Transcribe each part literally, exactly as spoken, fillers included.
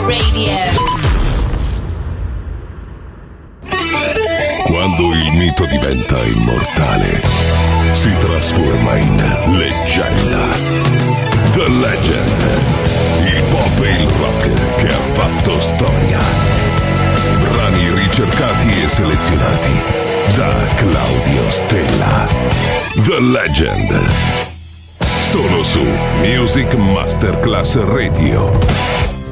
Radio. Quando il mito diventa immortale, si trasforma in leggenda. The Legend. Il pop e il rock che ha fatto storia. Brani ricercati e selezionati da Claudio Stella. The Legend. Solo su Music Masterclass Radio.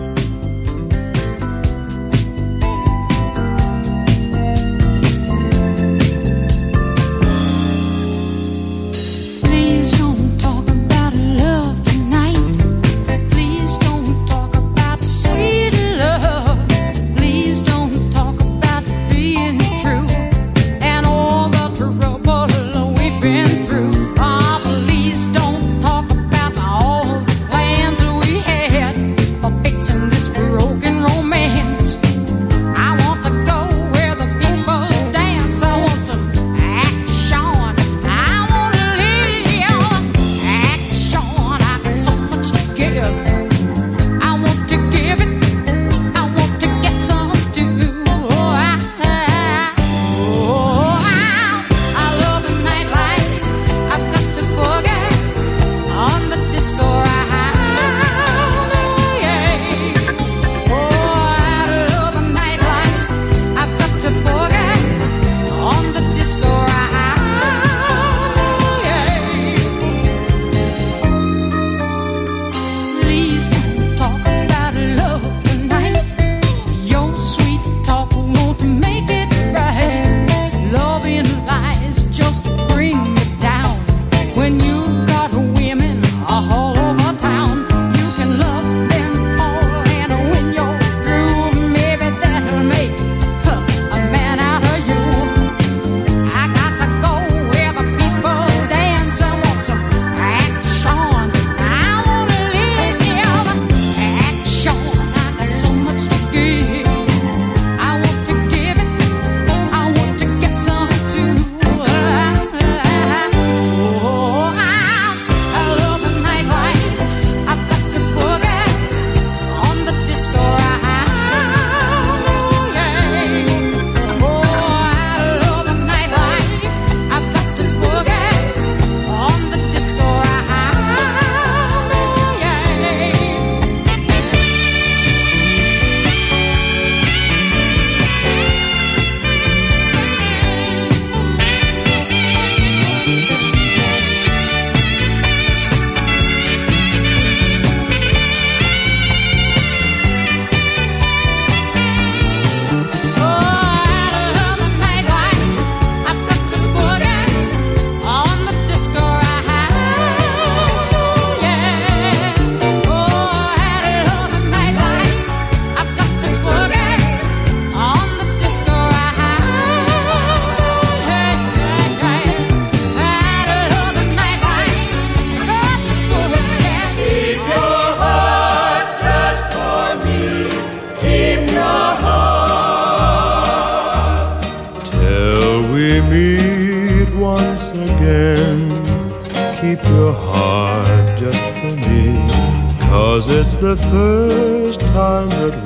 The first time that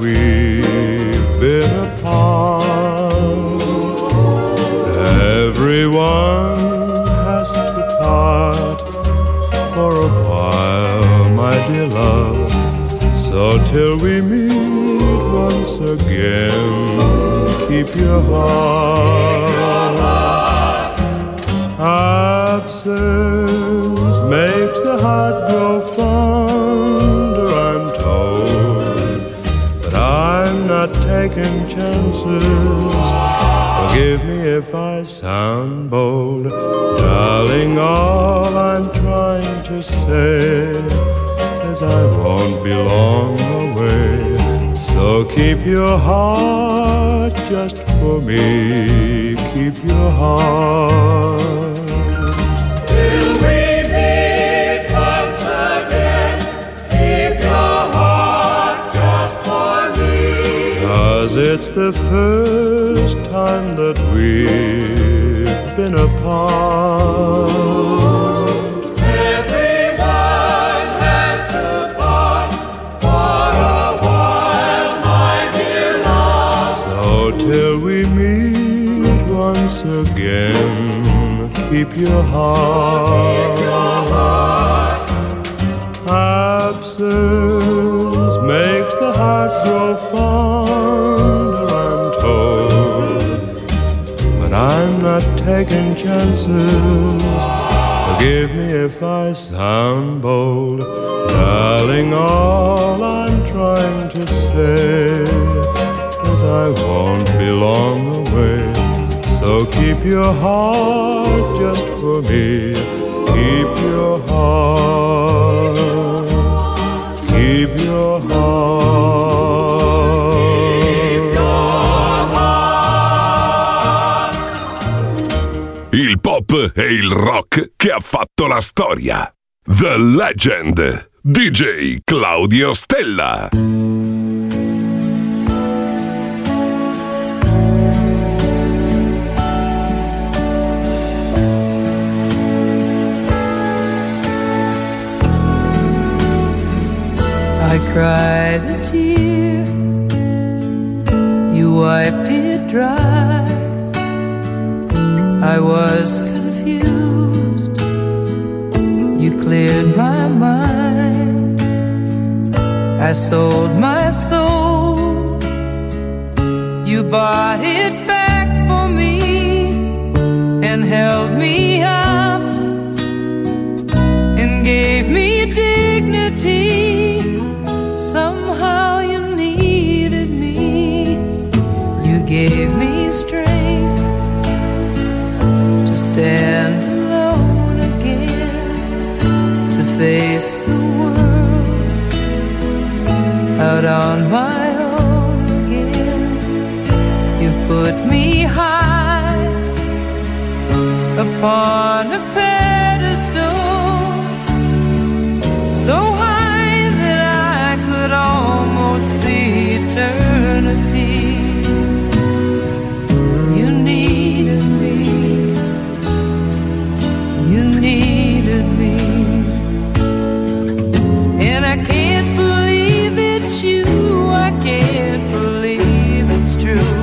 we've been apart, everyone has to part for a while, my dear love. So till we meet once again, keep your heart. Absence makes the heart grow fonder, I'm told, but I'm not taking chances. Forgive me if I sound bold, darling, all I'm trying to say is I won't be long away. So keep your heart just for me, keep your heart. Till we meet once again, keep your heart just for me. 'Cause it's the first time that we've been apart. Everyone has to part for a while, your heart. Absence makes the heart grow fonder, I'm told, but I'm not taking chances. Forgive me if I sound bold, darling, all I'm trying to say is I won't be long away. So keep your heart just for me. Keep your heart. Keep your heart. Keep your heart. Il pop e il rock che ha fatto la storia. The Legend. D J Claudio Stella. I cried a tear, you wiped it dry. I was confused, you cleared my mind. I sold my soul, you bought it back for me and held me up and gave me dignity. Somehow you needed me. You gave me strength to stand alone again, to face the world out on my own again. You put me high upon a pedestal, so high almost see eternity. You needed me, you needed me, and I can't believe it's you, I can't believe it's true.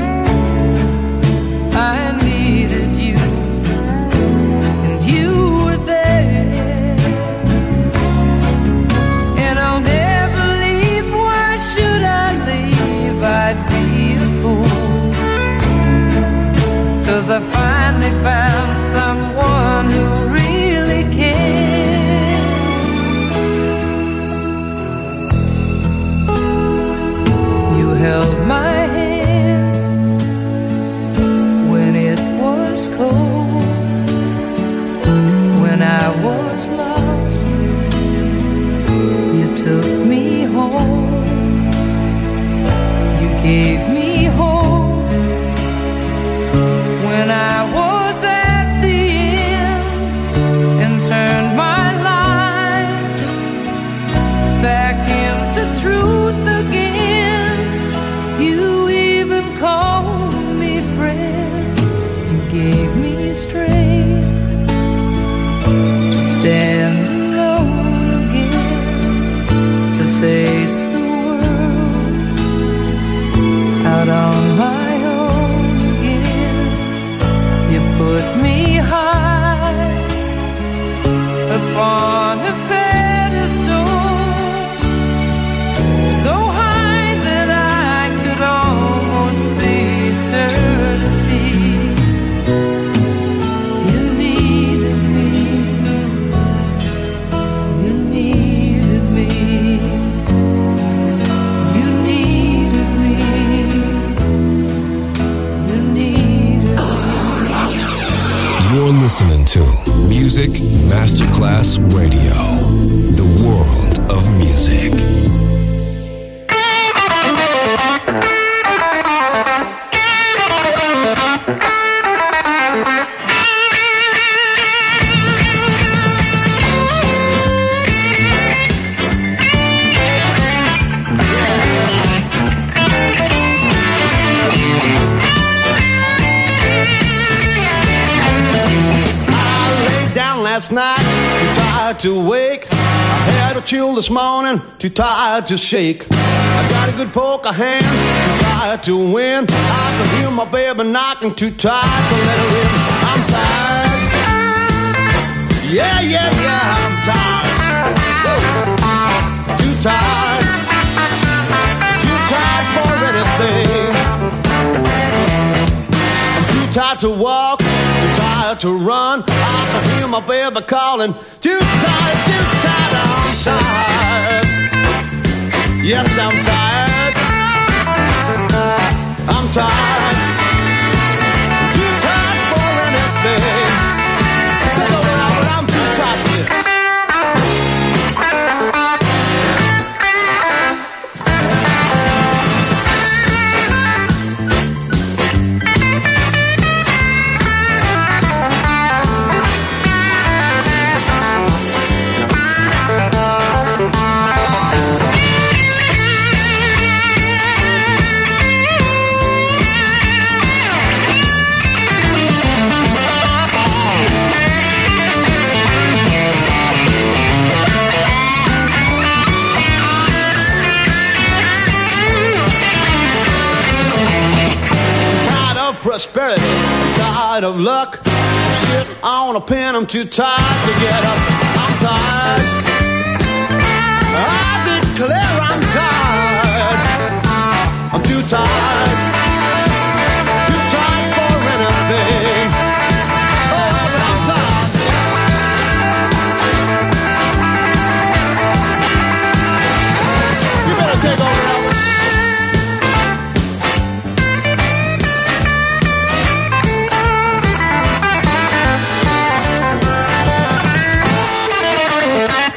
I needed you, and you were there, and I'll never I'd be a fool, 'cause I finally found someone who really cares. You held my hand when it was cold, when I was lost, you took me home. Gave me hope when I was at the end, and turned my life back into truth again. You even called me friend. You gave me strength to stand alone again, to face the out on my own again. You put me high upon a pedestal, so high that I could almost see eternity. You needed me, you needed me. You're listening to Music Masterclass Radio, the world of music. Last night, too tired to wake. I had a chill this morning, too tired to shake. I got a good poker hand, too tired to win. I can hear my baby knocking, too tired to let her in. I'm tired, Yeah, yeah, yeah, I'm tired. Woo. Too tired. Too tired for anything. I'm too tired to walk. Too tired to run. I can hear my baby calling. Too tired, too tired. I'm tired. Yes, I'm tired. I'm tired. Too tired for anything. Take over now, but I'm too tired for this. Prosperity, I'm tired of luck. I'm sitting on a pen, I'm too tired to get up. I'm tired. I declare I'm tired. I'm too tired. Too tired for anything. Oh, but I'm tired. You better take over now. Thank you.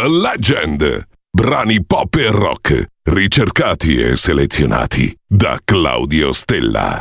The Legend. Brani pop e rock, ricercati e selezionati da Claudio Stella.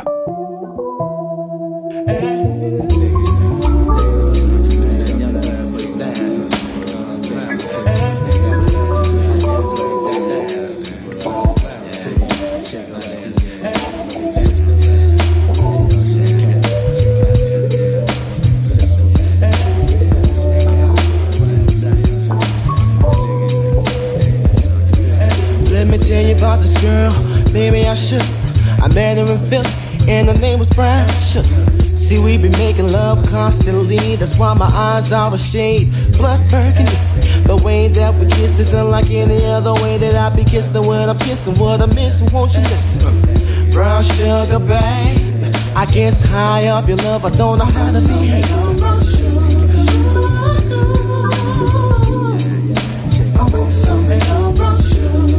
Tell you about this girl, maybe I should. I met her in Philly, and her name was Brown Sugar. See, we be making love constantly, that's why my eyes are a shade blood burgundy. The way that we kiss is unlike any other way that I be kissing when I'm kissing. What I'm missing, won't you listen? Brown sugar, babe, I guess high up your love, I don't know how to behave. Brown sugar. I want some brown sugar.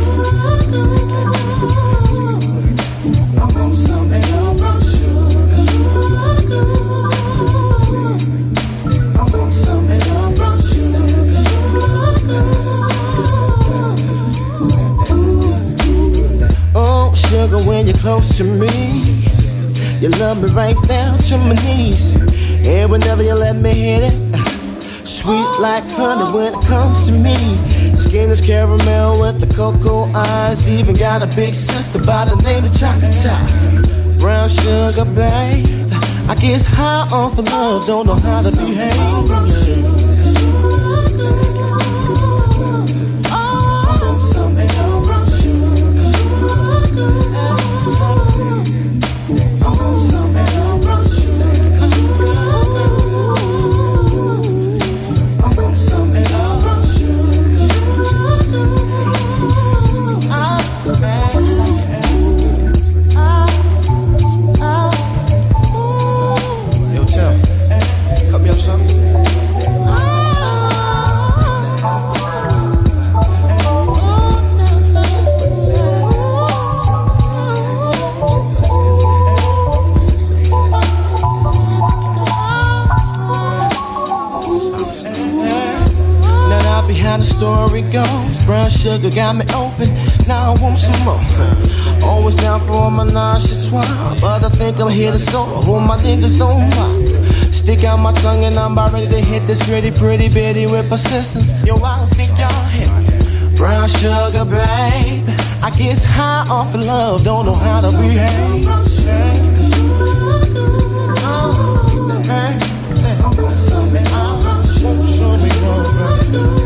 Oh, sugar, when you're close to me, you love me right down to my knees. And whenever you let me hit it, sweet like honey when it comes to me. Skin is caramel with the cocoa eyes. Even got a big sister by the name of Chocolate Top. Brown sugar, babe, I guess high off of love, don't know how to behave. Sugar got me open, now I want some more. Always down for my nonchalant, but I think I'm here to solo. Hold my niggas don't mind. Stick out my tongue and I'm about ready to hit this pretty, pretty bitty with persistence. Yo, I don't think y'all hit me. Brown sugar, babe, I guess high off of love, don't know how to behave. Show me love.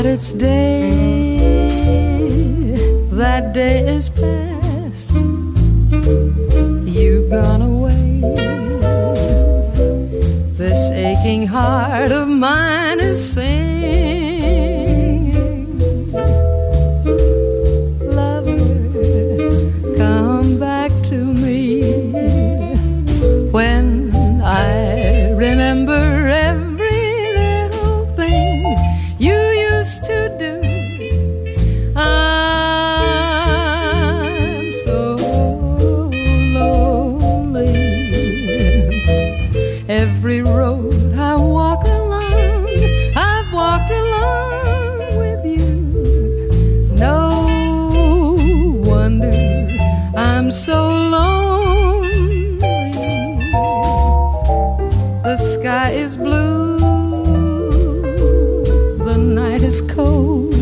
That day is past. you've gone away. This aching heart of mine is singing. Lover, come back to me. When I remember every little thing you used to do, I'm so lonely. Every road I walk along, I've walked along with you. No wonder I'm so lonely. The sky is blue, the night is cold,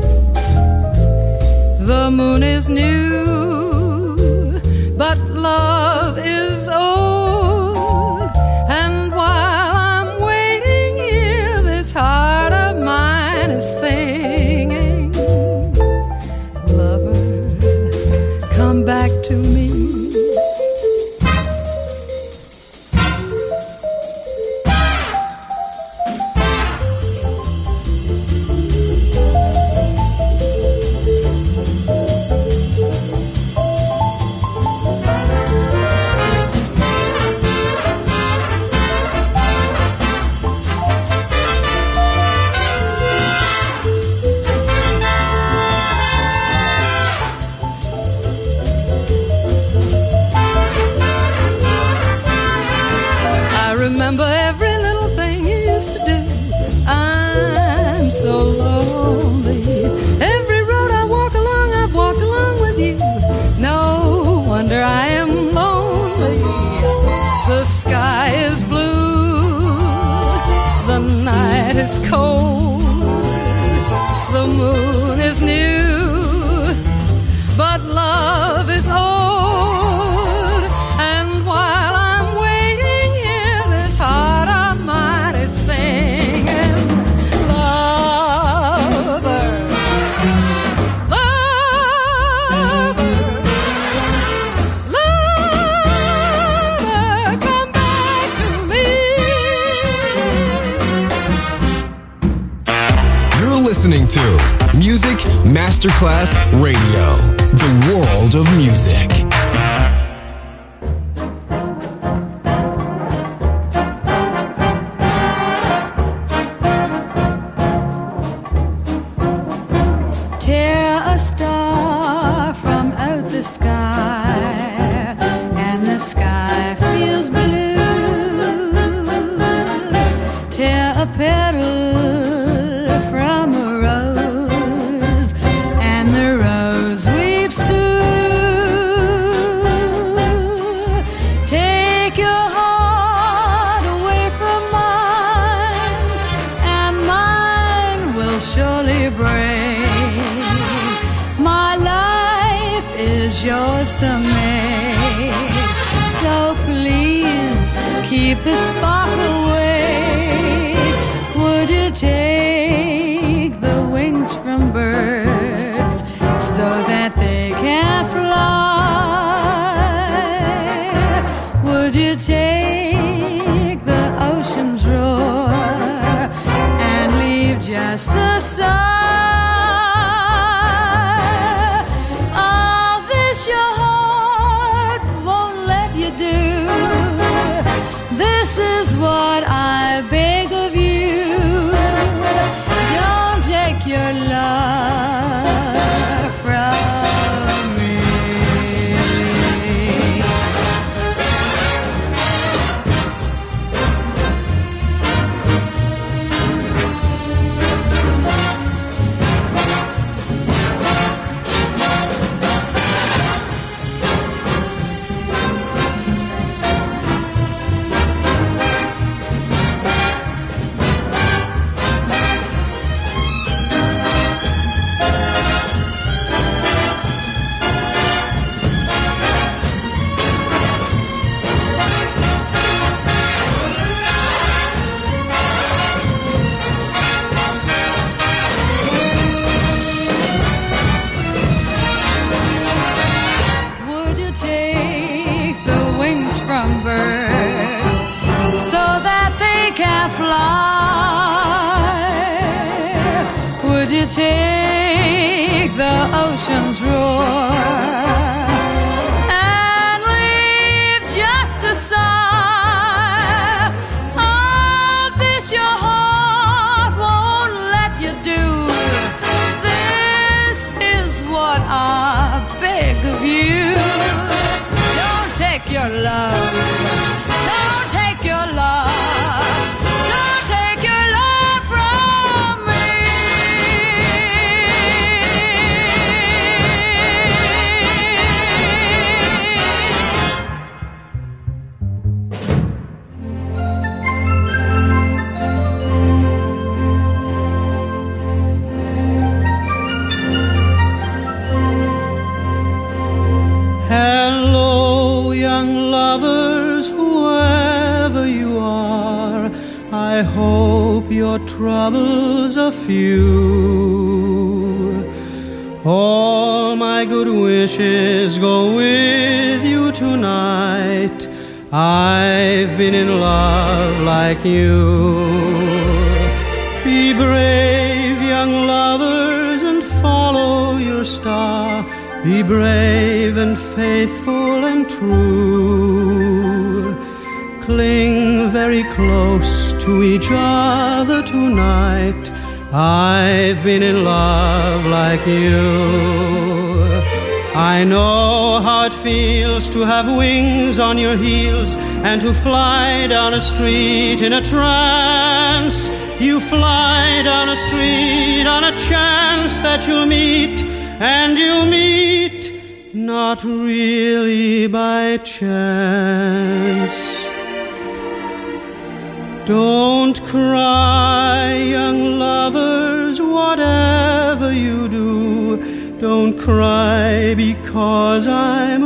the moon is new, but love is old. And while I'm waiting here, this heart of mine is singing. Lover, come back to me. Remember every little thing you used to do. I'm so lonely. Every road I walk along, I've walked along with you. No wonder I am lonely. The sky is blue, the night is cold, the moon is new, but love is old. And while I'm waiting here, this heart of mine is singing. Lover, lover, lover, come back to me. You're listening to Music Masterclass Radio, the world of music. Tear a star from out the sky, and the sky feels blue. Tear a petal from a rose, and the rose weeps too. Take your heart away from mine, and mine will surely break. My life is yours to make, so please keep the spark away. Would you take the wings from birds so that they can fly? Would you take the ocean's roar and leave just the sun? Your heart won't let you do. This is what I beg of you. Don't take your love from me. Would you take the ocean's roar and leave just a sigh? All this your heart won't let you do. This is what I beg of you. Don't take your love. Don't take your love. Hello, young lovers, whoever you are, I hope your troubles are few. All my good wishes go with you tonight. I've been in love like you. Be brave, young lovers, and follow your star. Be brave and faithful and true. Cling very close to each other tonight. I've been in love like you. I know how it feels to have wings on your heels and to fly down a street in a trance. You fly down a street on a chance that you'll meet, and you meet not really by chance. Don't cry, young lovers, whatever you do. Don't cry because I'm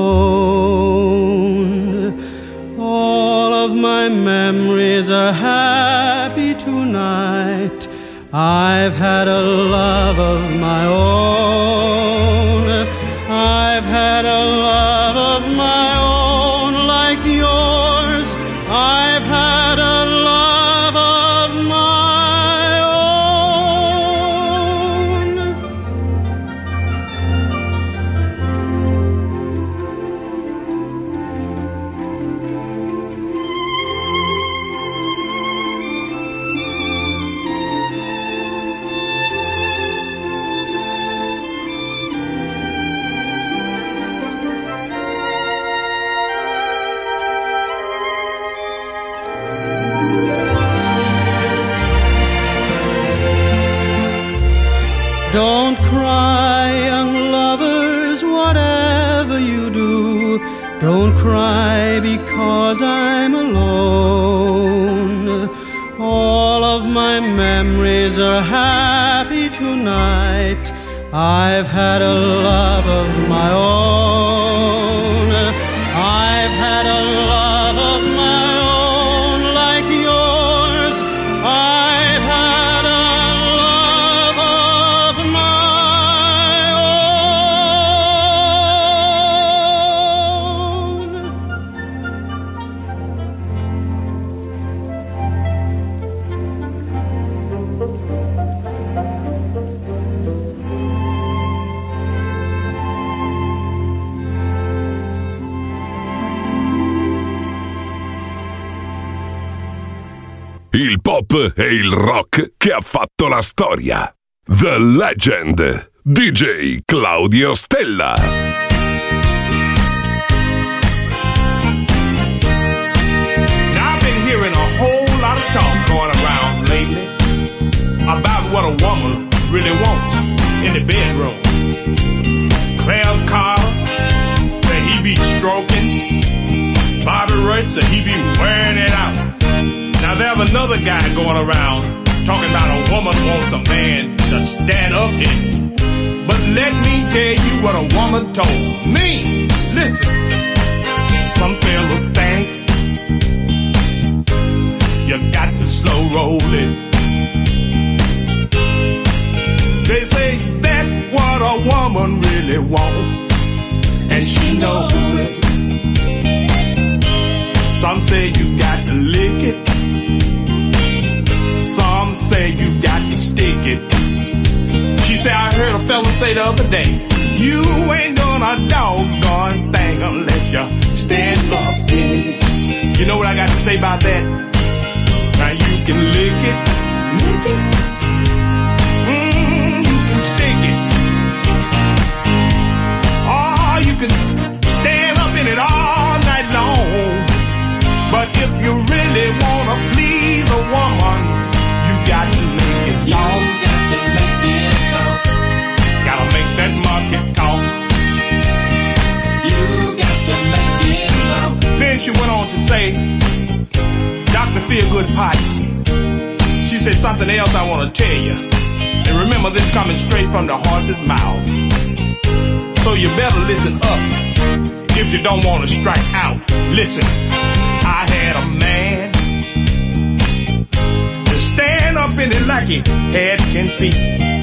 alone. All of my memories are happy tonight. I've had a love of my own. I've had a love of my own like yours. I've had a love of my own. Don't cry, young lovers, whatever you do. Don't cry because I'm alone. All of my memories are happy tonight. I've had a love of my own. I've had a love of my own like yours. I've had a love of my own. Il pop e il rock che ha fatto la storia. The Legend, D J Claudio Stella. Now I've been hearing a whole lot of talk going around lately about what a woman really wants in the bedroom. Clarence Carter said he be stroking. Bobby Rich said he be wearing it out. Now there's another guy going around talking about a woman wants a man to stand up in. But let me tell you what a woman told me. Listen, some fellas think you got to slow roll it. They say that's what a woman really wants, and she knows it. Some say you got to lick it. Some say you got to stick it. say I heard a fella say the other day, you ain't doing a doggone thing unless you stand up in it. You know what I got to say about that? Now you can lick it, lick it, mm, you can stick it, or you can stand up in it all night long. But if you really wanna please a woman, you got to make it talk. You got to make it talk. Gotta make that market talk. You got to make it talk. Then she went on to say, Doctor Feelgood Potts, she said something else I want to tell you. And remember, this coming straight from the horse's mouth. So you better listen up if you don't want to strike out. Listen, I had a man to stand up in it like he had ten feet.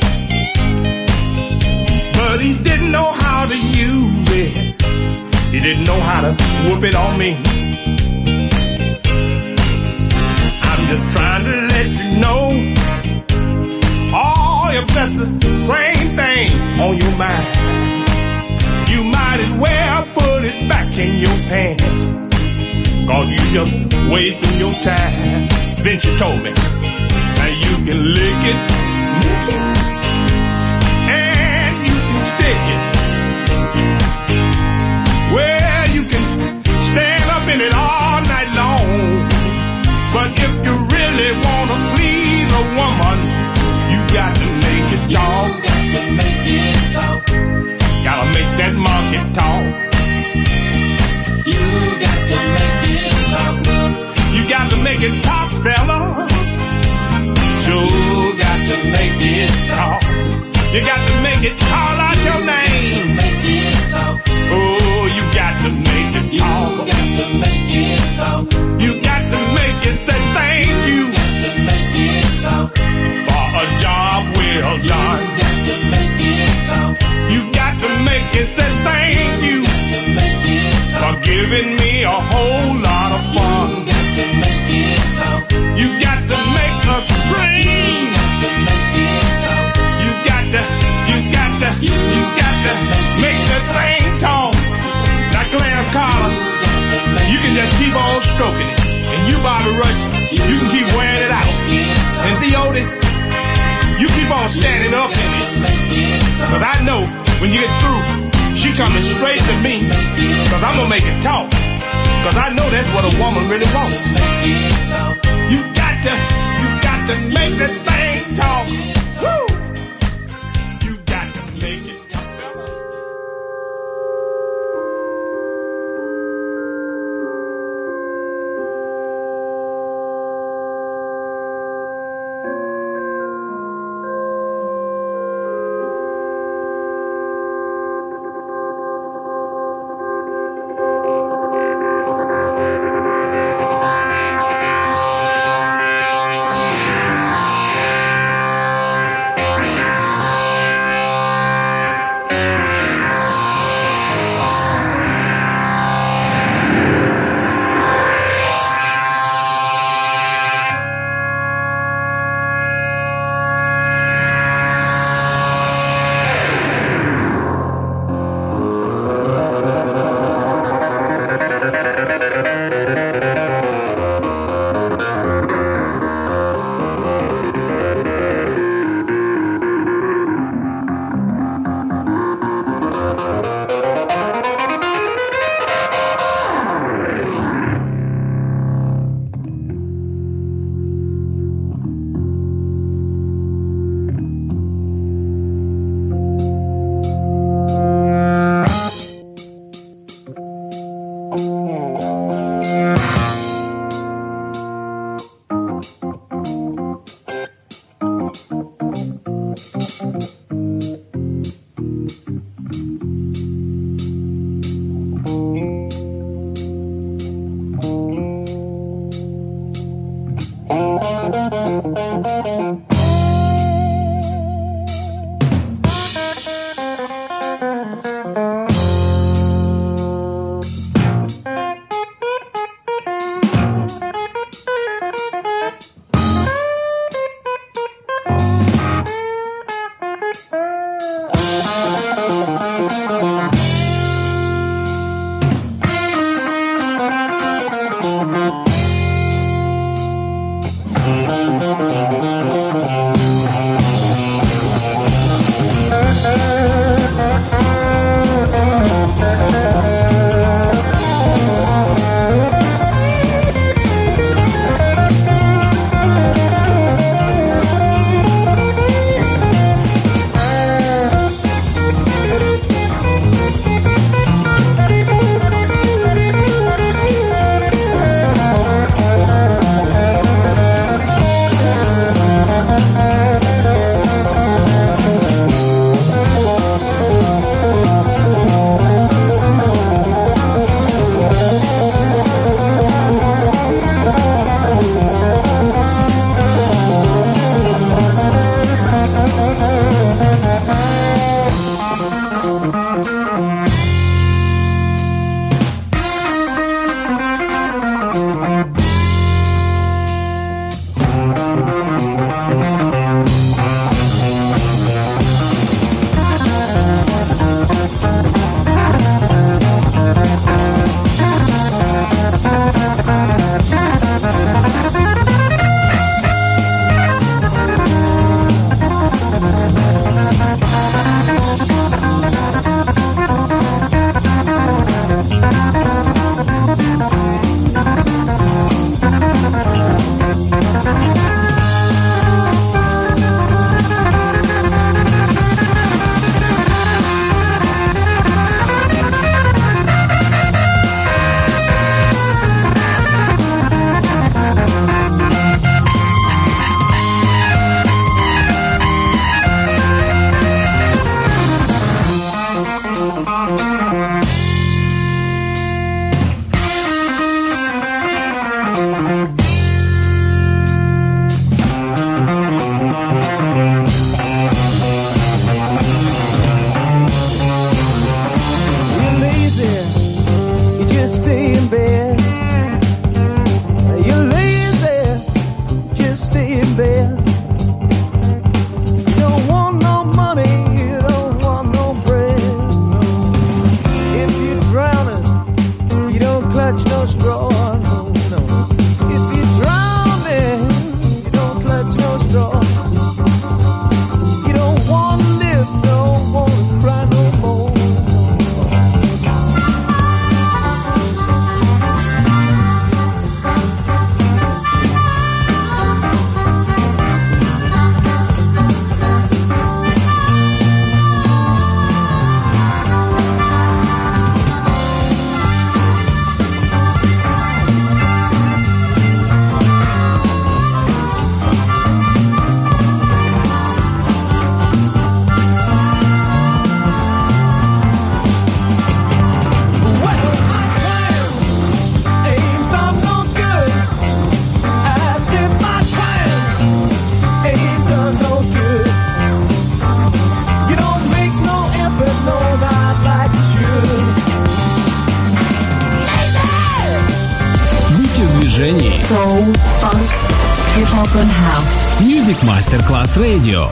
But he didn't know how to use it. He didn't know how to whoop it on me. I'm just trying to let you know, oh, if that's the same thing on your mind, you might as well put it back in your pants, cause you just wasting your time. Then she told me, now you can lick it, lick it, and you can stick it. Well, you can stand up in it all night long. But if you really wanna please a woman, you got to make it talk. You got to make it talk. Gotta make that market talk. You got to make it talk. You got to make it talk, fella. You got to make it talk. You got to make it call out your name. Make it talk. Oh, you got to make it talk. You got to make it talk. You got to make it say thank you. You got to make it talk. For a job well done. You got to make it talk. You got to make it say thank you. You got to make it talk. For giving me a whole lot of fun. You got to make it talk. You got to make us scream. You got to make it talk. You got to, you got to, you got to make the thing talk. Now, Clarence Carter, you can just keep on stroking it. And you, Bobby Rush, you can keep wearing it out. And Theody, you keep on standing up in it. Cause I know when you get through, she coming straight to me. Cause I'm gonna make it talk. Cause I know that's what a woman really wants. You got to, you got to make the thing talk. Woo! You got to make it talk. soul, funk, hip-hop and house. Music Masterclass Radio.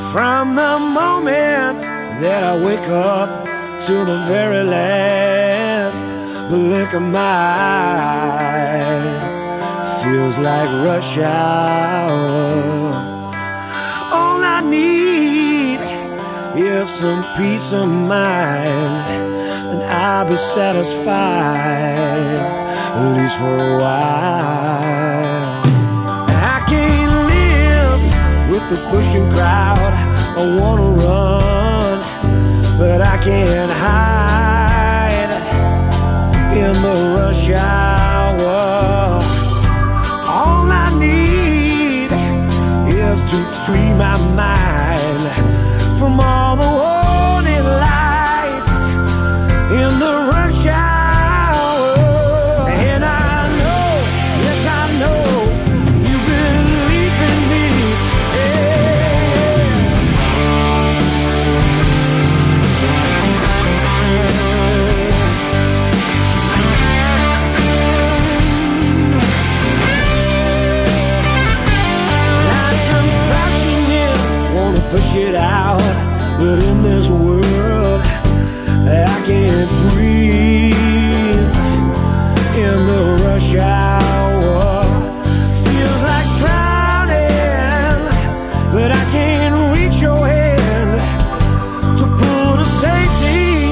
From the moment that I wake up to the very last blink of my eye, feels like rush hour. All I need is some peace of mind, and I'll be satisfied, at least for a while. I can't live with the pushing crowd. I wanna run, but I can't hide in the rush hour. All I need is to free my mind from all the warning lights in the rush hour. And I know, yes I know, you believe in me. Life comes crashing in, wanna push it out, but in this world I can't breathe in the rush hour. Feels like drowning, but I can't reach your hand to pull to safety.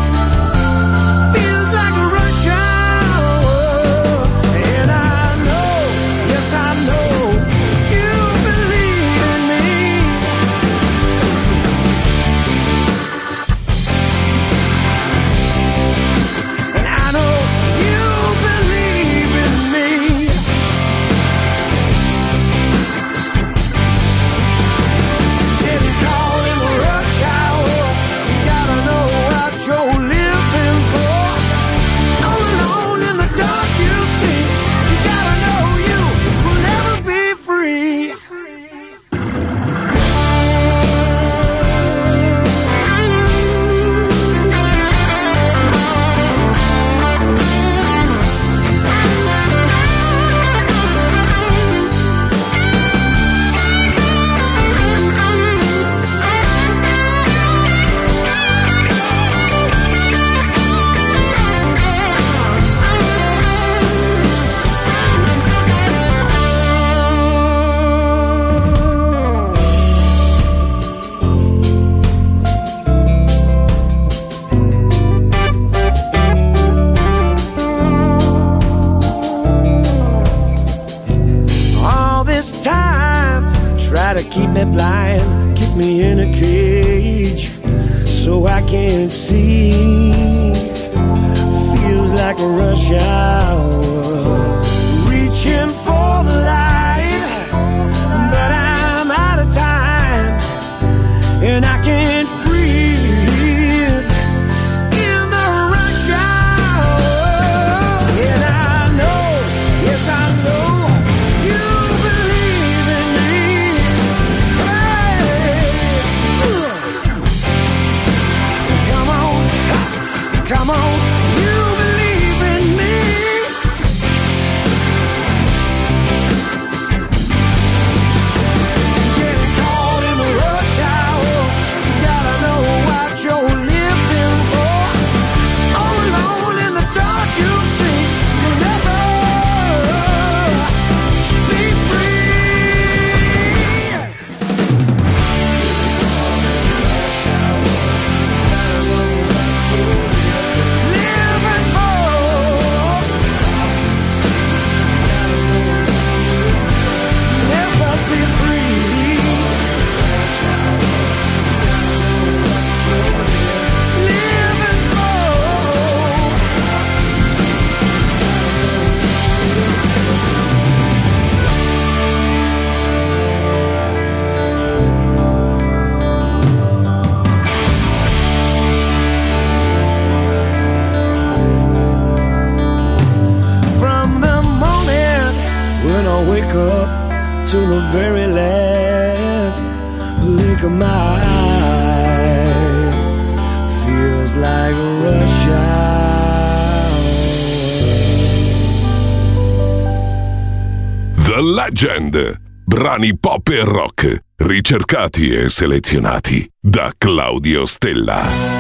Feels like a rush hour, and I know, yes I know, you believe in me. And I know you believe in me. Getting caught in the rush hour, you gotta know what you're living for. All alone in the dark you see, you gotta know you will never be free. All this time, try to keep me blind, keep me in a cage, so I can't see. Feels like a rush hour, reaching for the light, but I'm out of time, and I can't breathe in the rush hour. And I know, yes I know, you believe in me. Hey, come on, come on, you believe in me. Getting caught in the rush hour, you gotta know what you're living for. All alone in the dark you see, you'll never be free. Rush hour, gotta know what you're living for. Dark you see, gotta know you'll never be free. Rush hour, gotta know what you're living for. Dark you see, from the moment when I wake up to the very last blink of my eye, feels like a rush hour. The Legend, brani pop e rock, ricercati e selezionati da Claudio Stella.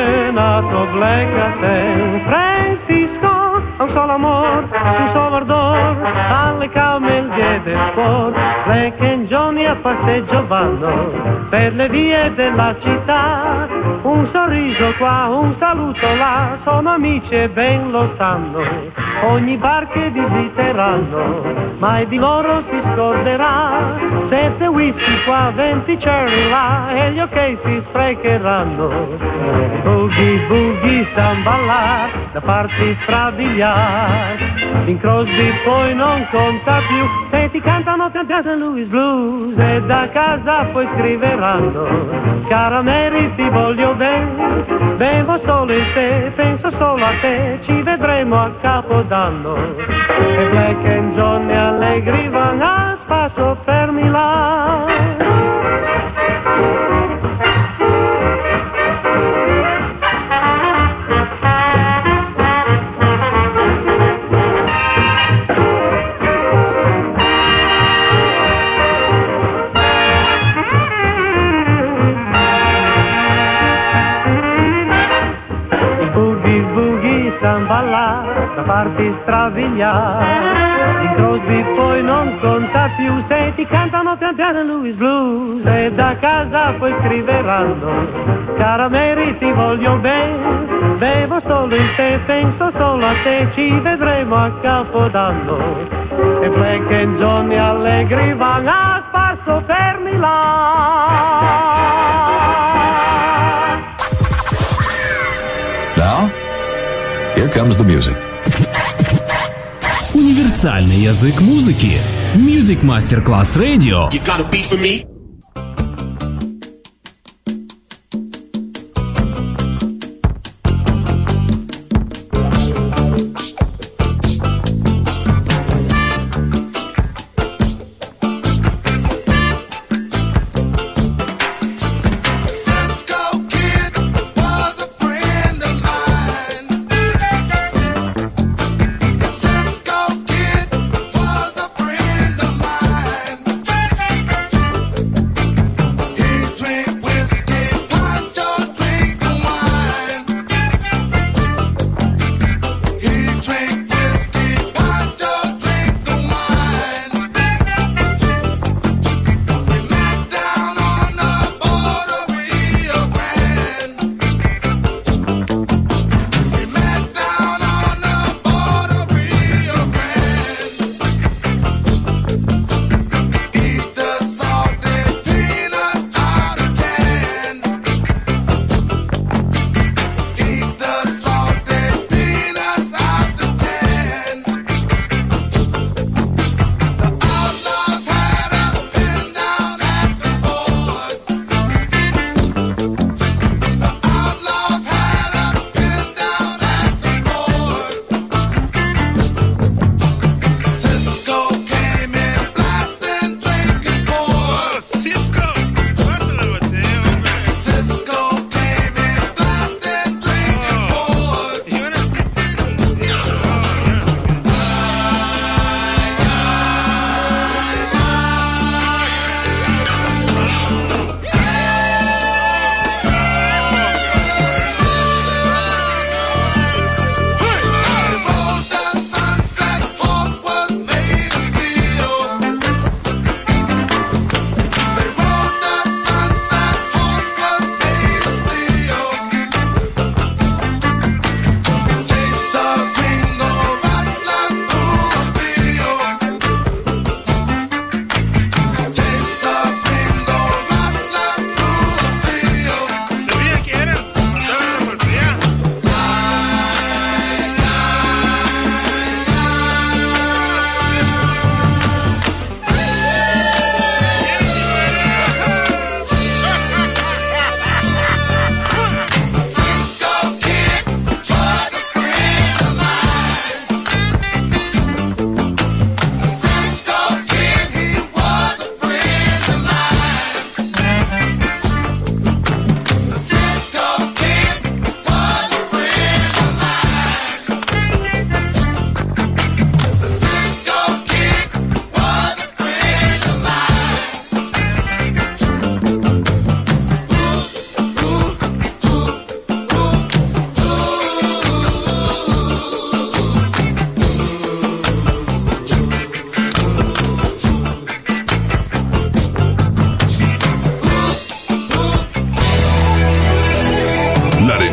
Black a San Francisco, un solo amor, un solo ardor. d'amor, alle calme il diede sport. Black and Johnny a passeggio vanno per le vie della città, un sorriso qua, un saluto là, sono amici e ben lo sanno, ogni bar che visiteranno, mai di loro si scorderà, sette whisky qua, venti cherry là, e gli ok si sprecheranno, boogie boogie samba là, da farsi strabiliare, in Crosby poi non conta più, se ti cantano cantate Louis Blues, e da casa poi scriveranno, cara Mary ti voglio bene, bevo solo in te, penso solo a te, ci vedremo a Capodanno, e Black and Johnny allegri vanno a spasso per Milano. Da farti strabiliare, in Crosby poi non conta più, se ti cantano cantare Louis Blues, e da casa poi scriveranno, cara Mary ti voglio bene, bevo solo in te, penso solo a te, ci vedremo a Capodanno, e Black and Johnny allegri vanno a spasso per Milano. Now, here comes the music. Универсальный язык музыки. Music Masterclass Radio. You got a beat for me?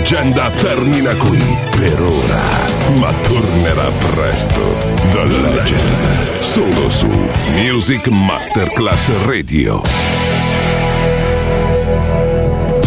leggenda termina qui per ora, ma tornerà presto. The Legend, solo su Music Masterclass Radio.